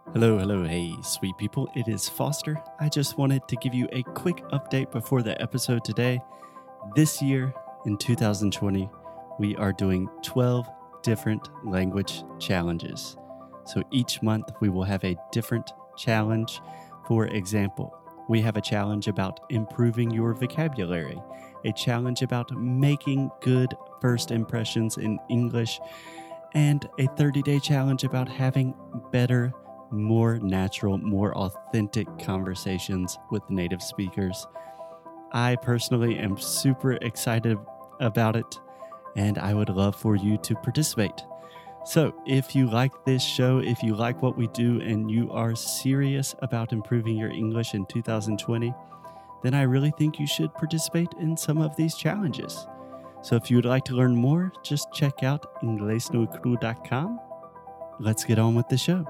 Hey, sweet people. It is Foster. I just wanted to give you a quick update before the episode today. This year, in 2020, we are doing 12 different language challenges. So each month, we will have a different challenge. For example, we have a challenge about improving your vocabulary, a challenge about making good first impressions in English, and a 30-day challenge about having better, more natural, more authentic conversations with native speakers. I personally am super excited about it, and I would love for you to participate. So if you like this show, if you like what we do, and you are serious about improving your English in 2020, then I really think you should participate in some of these challenges. So if you would like to learn more, just check out inglesnocru.com. Let's get on with the show.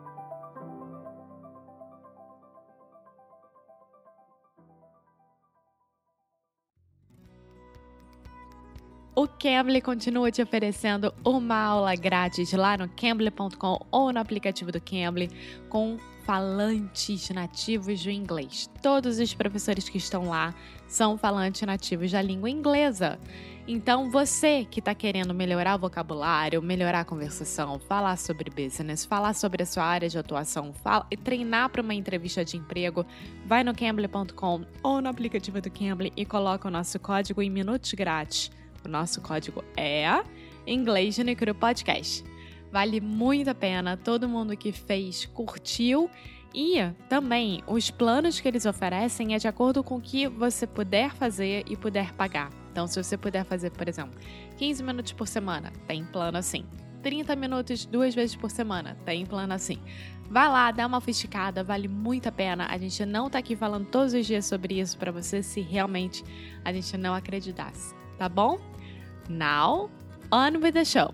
O Cambly continua te oferecendo uma aula grátis lá no Cambly.com ou no aplicativo do Cambly com falantes nativos do inglês. Todos os professores que estão lá são falantes nativos da língua inglesa. Então, você que está querendo melhorar o vocabulário, melhorar a conversação, falar sobre business, falar sobre a sua área de atuação, treinar para uma entrevista de emprego, vai no Cambly.com ou no aplicativo do Cambly e coloca o nosso código em minutos grátis. O nosso código é Inglês no Cru Podcast. Vale muito a pena, todo mundo que fez curtiu e também os planos que eles oferecem é de acordo com o que você puder fazer e puder pagar. Então, se você puder fazer, por exemplo, 15 minutos por semana, tem plano assim. 30 minutos 2 vezes por semana, tem plano assim. Vai lá, dá uma fisticada, vale muito a pena. A gente não tá aqui falando todos os dias sobre isso para você se realmente a gente não acreditasse. Tá bom? Now, on with the show.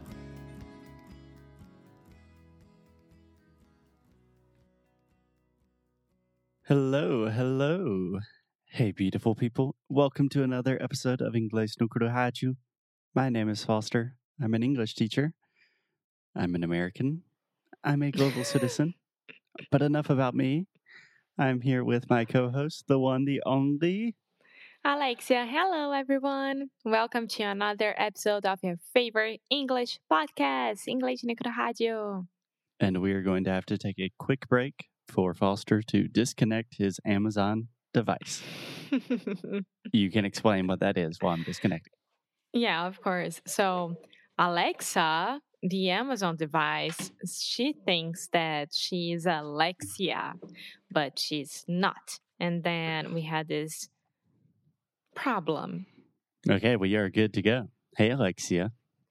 Hello. Hey, beautiful people. Welcome to another episode of Inglês no Cru Rádio. My name is Foster. I'm an English teacher. I'm an American. I'm a global citizen. But enough about me. I'm here with my co-host, the one, the only... Alexia, hello everyone. Welcome to another episode of your favorite English podcast, Inglês no Cru Rádio. And we are going to have to take a quick break for Foster to disconnect his Amazon device. You can explain what that is while I'm disconnecting. Yeah, of course. So, Alexa, the Amazon device, she thinks that she's Alexia, but she's not. And then we had this problem. Okay, we are good to go. Hey, Alexia.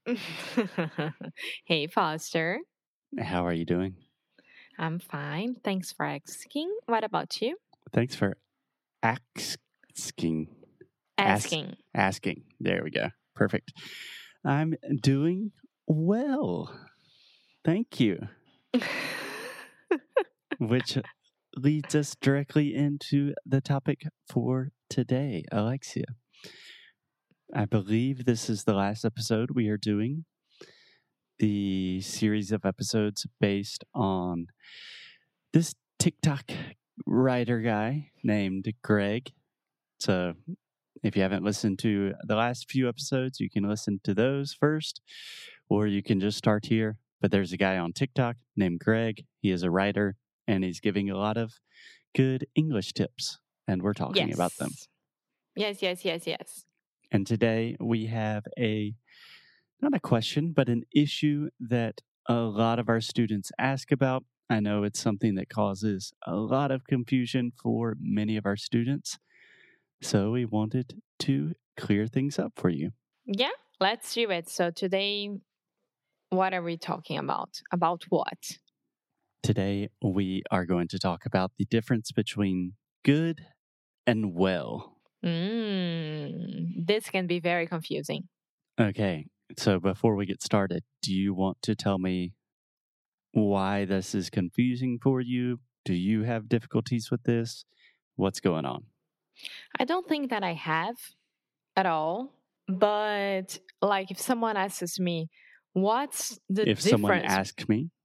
Hey, Foster. How are you doing? I'm fine. Thanks for asking. What about you? Thanks for asking. Asking. There we go. Perfect. I'm doing well. Thank you. Which leads us directly into the topic for today, Alexia. I believe this is the last episode we are doing the series of episodes based on this TikTok writer guy named Greg. So if you haven't listened to the last few episodes, you can listen to those first, or you can just start here. But there's a guy on TikTok named Greg. He is a writer, and he's giving a lot of good English tips, and we're talking about them. Yes. And today we have not a question, but an issue that a lot of our students ask about. I know it's something that causes a lot of confusion for many of our students. So we wanted to clear things up for you. Yeah, let's do it. So today, what are we talking about? About what? Today, we are going to talk about the difference between good and well. This can be very confusing. Okay, so before we get started, do you want to tell me why this is confusing for you? Do you have difficulties with this? What's going on? I don't think that I have at all. But like if someone asks me, what's the difference? If someone asks me?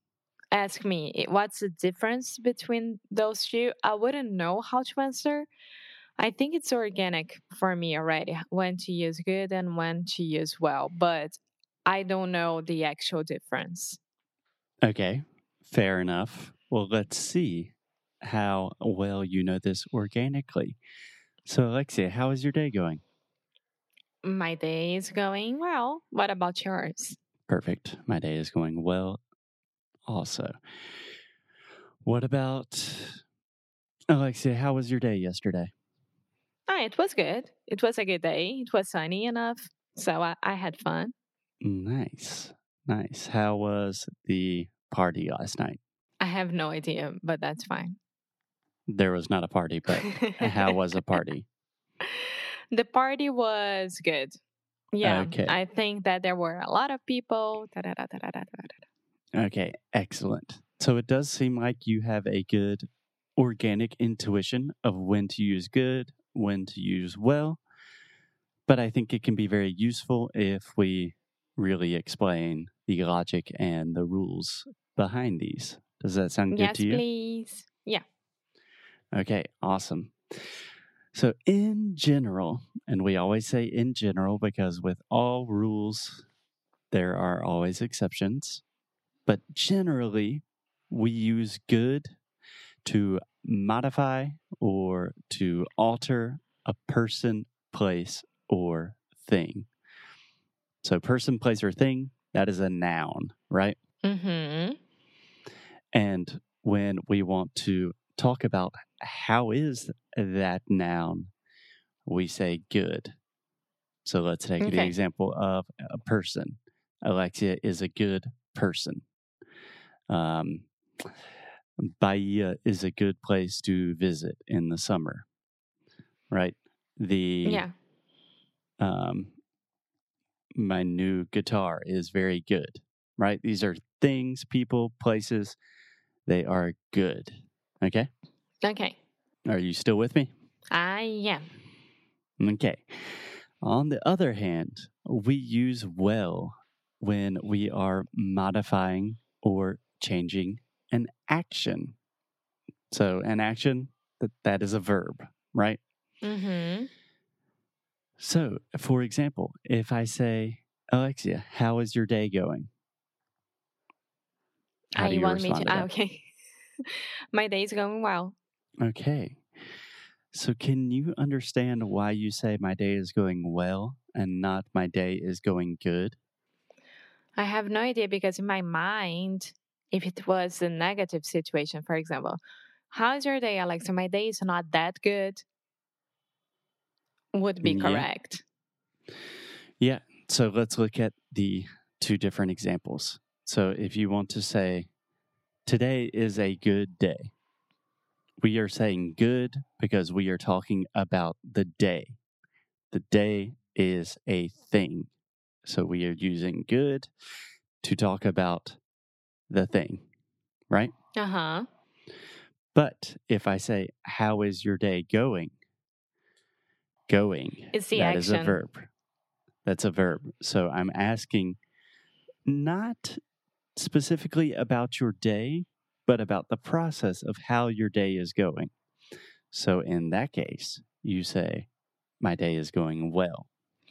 ask me what's the difference between those two, I wouldn't know how to answer. I think it's organic for me already when to use good and when to use well, but I don't know the actual difference. Okay, fair enough. Well, let's see how well you know this organically. So, Alexia, how is your day going? My day is going well. What about yours? Perfect. My day is going well also. What about Alexia? How was your day yesterday? It was good. It was a good day. It was sunny enough, so I had fun. Nice. Nice. How was the party last night? I have no idea, but that's fine. There was not a party, but how was a party? The party was good. Yeah, Okay. I think that there were a lot of people. Da-da-da-da-da-da-da. Okay. Excellent. So it does seem like you have a good organic intuition of when to use good, when to use well. But I think it can be very useful if we really explain the logic and the rules behind these. Does that sound good Yes, to you? please. Yeah. Okay, awesome. So, in general, and we always say in general because with all rules, there are always exceptions. But generally, we use good to modify or to alter a person, place, or thing. So, person, place, or thing, that is a noun, right? Mm-hmm. And when we want to talk about how is that noun, we say good. So let's take the Okay. example of a person. Alexia is a good person. Bahia is a good place to visit in the summer, right? Yeah. My new guitar is very good, right? These are things, people, places. They are good. Okay. Okay. Are you still with me? I am. Okay. On the other hand, we use well when we are modifying or changing an action. So, an action, that is a verb, right? Mm-hmm. So, for example, if I say, Alexia, how is your day going? How do You you want me respond to to? that? Okay. My day is going well. Okay. So, can you understand why you say my day is going well and not my day is going good? I have no idea because in my mind, if it was a negative situation, for example, how's your day, Alexa? My day is not that good, would be Yeah. correct. Yeah. So let's look at the two different examples. So if you want to say, today is a good day, we are saying good because we are talking about the day. The day is a thing. So we are using good to talk about the thing, right? Uh-huh. But if I say, how is your day going? Going, It's the that is a action. verb. That's a verb. So I'm asking not specifically about your day, but about the process of how your day is going. So in that case, you say, my day is going well.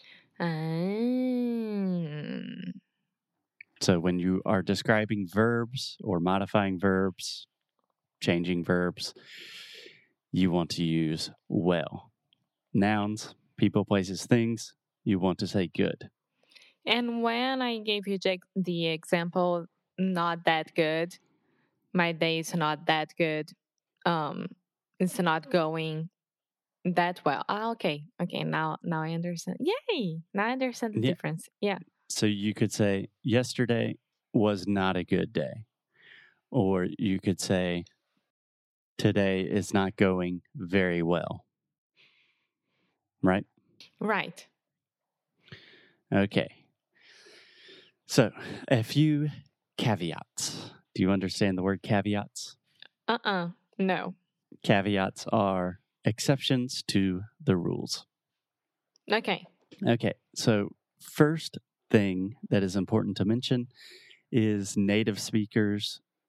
Mm. So when you are describing verbs or modifying verbs, changing verbs, you want to use well. Nouns, people, places, things, you want to say good. And when I gave you the example, not that good, my day is not that good, it's not going that well. Okay. Okay. Now I understand. Yay. Now I understand the Yeah. difference. Yeah. So you could say, yesterday was not a good day. Or you could say, today is not going very well. Right? Right. Okay. So, a few caveats. Do you understand the word caveats? No. Caveats are exceptions to the rules. Okay. Okay. So, first thing that is important to mention is native speakers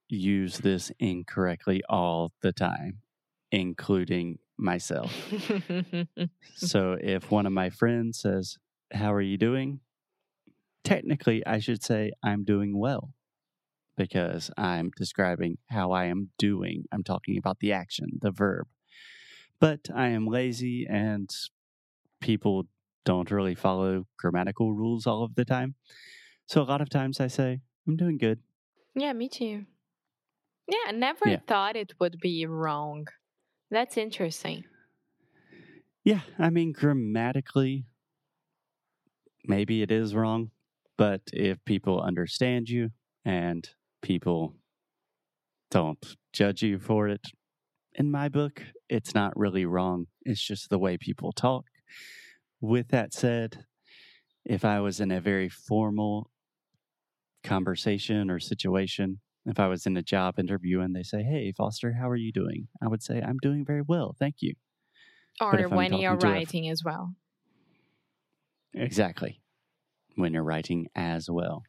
use this incorrectly all the time, including myself. So if one of my friends says, "How are you doing?" Technically, I should say, "I'm doing well," because I'm describing how I am doing. I'm talking about the action, the verb. But I am lazy and people don't really follow grammatical rules all of the time. So a lot of times I say, "I'm doing good." Yeah, me too. Yeah, I never thought it would be wrong. That's interesting. Yeah, I mean, grammatically, maybe it is wrong, but if people understand you and people don't judge you for it, in my book, it's not really wrong. It's just the way people talk. With that said, if I was in a very formal conversation or situation, if I was in a job interview and they say, "Hey, Foster, how are you doing?" I would say, "I'm doing very well, thank you." Or when you're writing as well. Exactly. When you're writing as well.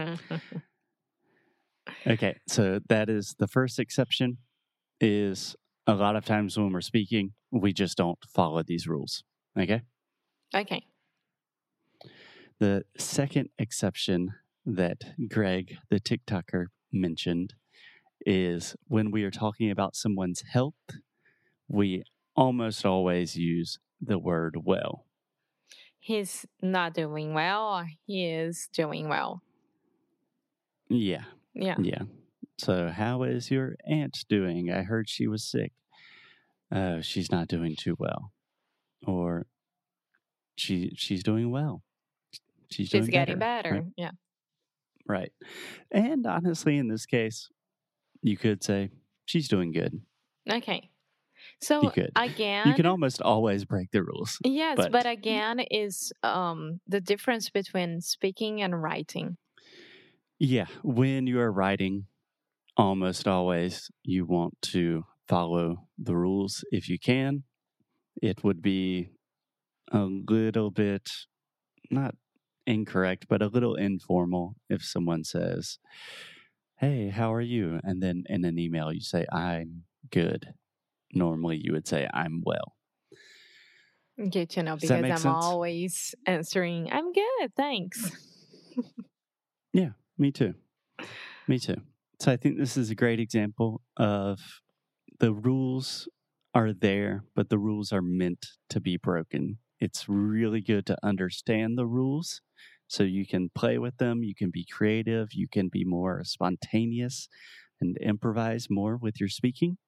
Okay, so that is the first exception, is a lot of times when we're speaking, we just don't follow these rules. Okay? Okay. The second exception that Greg, the TikToker, mentioned is when we are talking about someone's health, we almost always use the word well. He's not doing well or he is doing well. Yeah. Yeah. Yeah. So, how is your aunt doing? I heard she was sick. She's not doing too well. Or she's doing well. She's doing getting better. better. Right? Yeah. Right. And honestly, in this case, you could say she's doing good. Okay. So You could. again, You can almost always break the rules. yes, but again is the difference between speaking and writing. Yeah, when you are writing, almost always you want to follow the rules if you can. It would be a little bit, not incorrect, but a little informal if someone says, "Hey, how are you?" And then in an email you say, "I'm good." Normally you would say, "I'm well." Good to know, Does that because make I'm sense? always answering, "I'm good, thanks." Yeah, me too. Me too. So I think this is a great example of the rules are there, but the rules are meant to be broken. It's really good to understand the rules so you can play with them, you can be creative, you can be more spontaneous and improvise more with your speaking.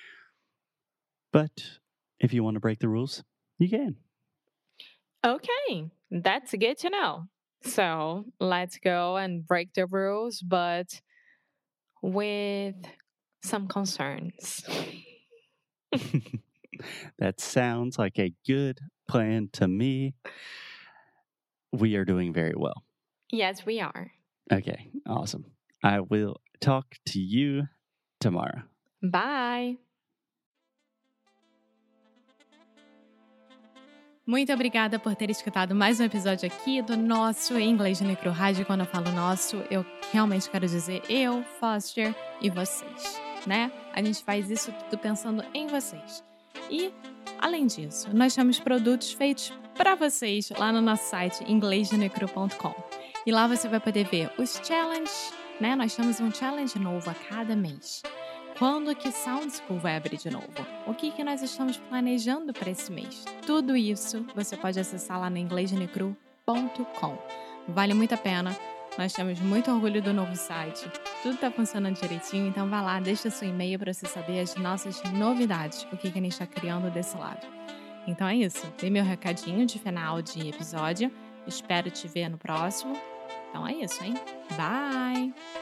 But if you want to break the rules, you can. Okay, that's good to know. So let's go and break the rules, but with some concerns. That sounds like a good plan to me. We are doing very well. Yes, we are. Okay, awesome. I will talk to you tomorrow. Bye! Muito obrigada por ter escutado mais um episódio aqui do nosso Inglês no Micro Rádio. Quando eu falo nosso, eu realmente quero dizer eu, Foster e vocês, né? A gente faz isso tudo pensando em vocês. E, além disso, nós temos produtos feitos para vocês lá no nosso site inglesnonecru.com. E lá você vai poder ver os challenges, né? Nós temos um challenge novo a cada mês. Quando que Sound School vai abrir de novo? O que nós estamos planejando para esse mês? Tudo isso você pode acessar lá no inglesnonecru.com. Vale muito a pena. Nós temos muito orgulho do novo site. Tudo está funcionando direitinho, então vá lá, deixa seu e-mail para você saber as nossas novidades, o que a gente está criando desse lado. Então é isso. Dei meu recadinho de final de episódio. Espero te ver no próximo. Então é isso, hein? Bye!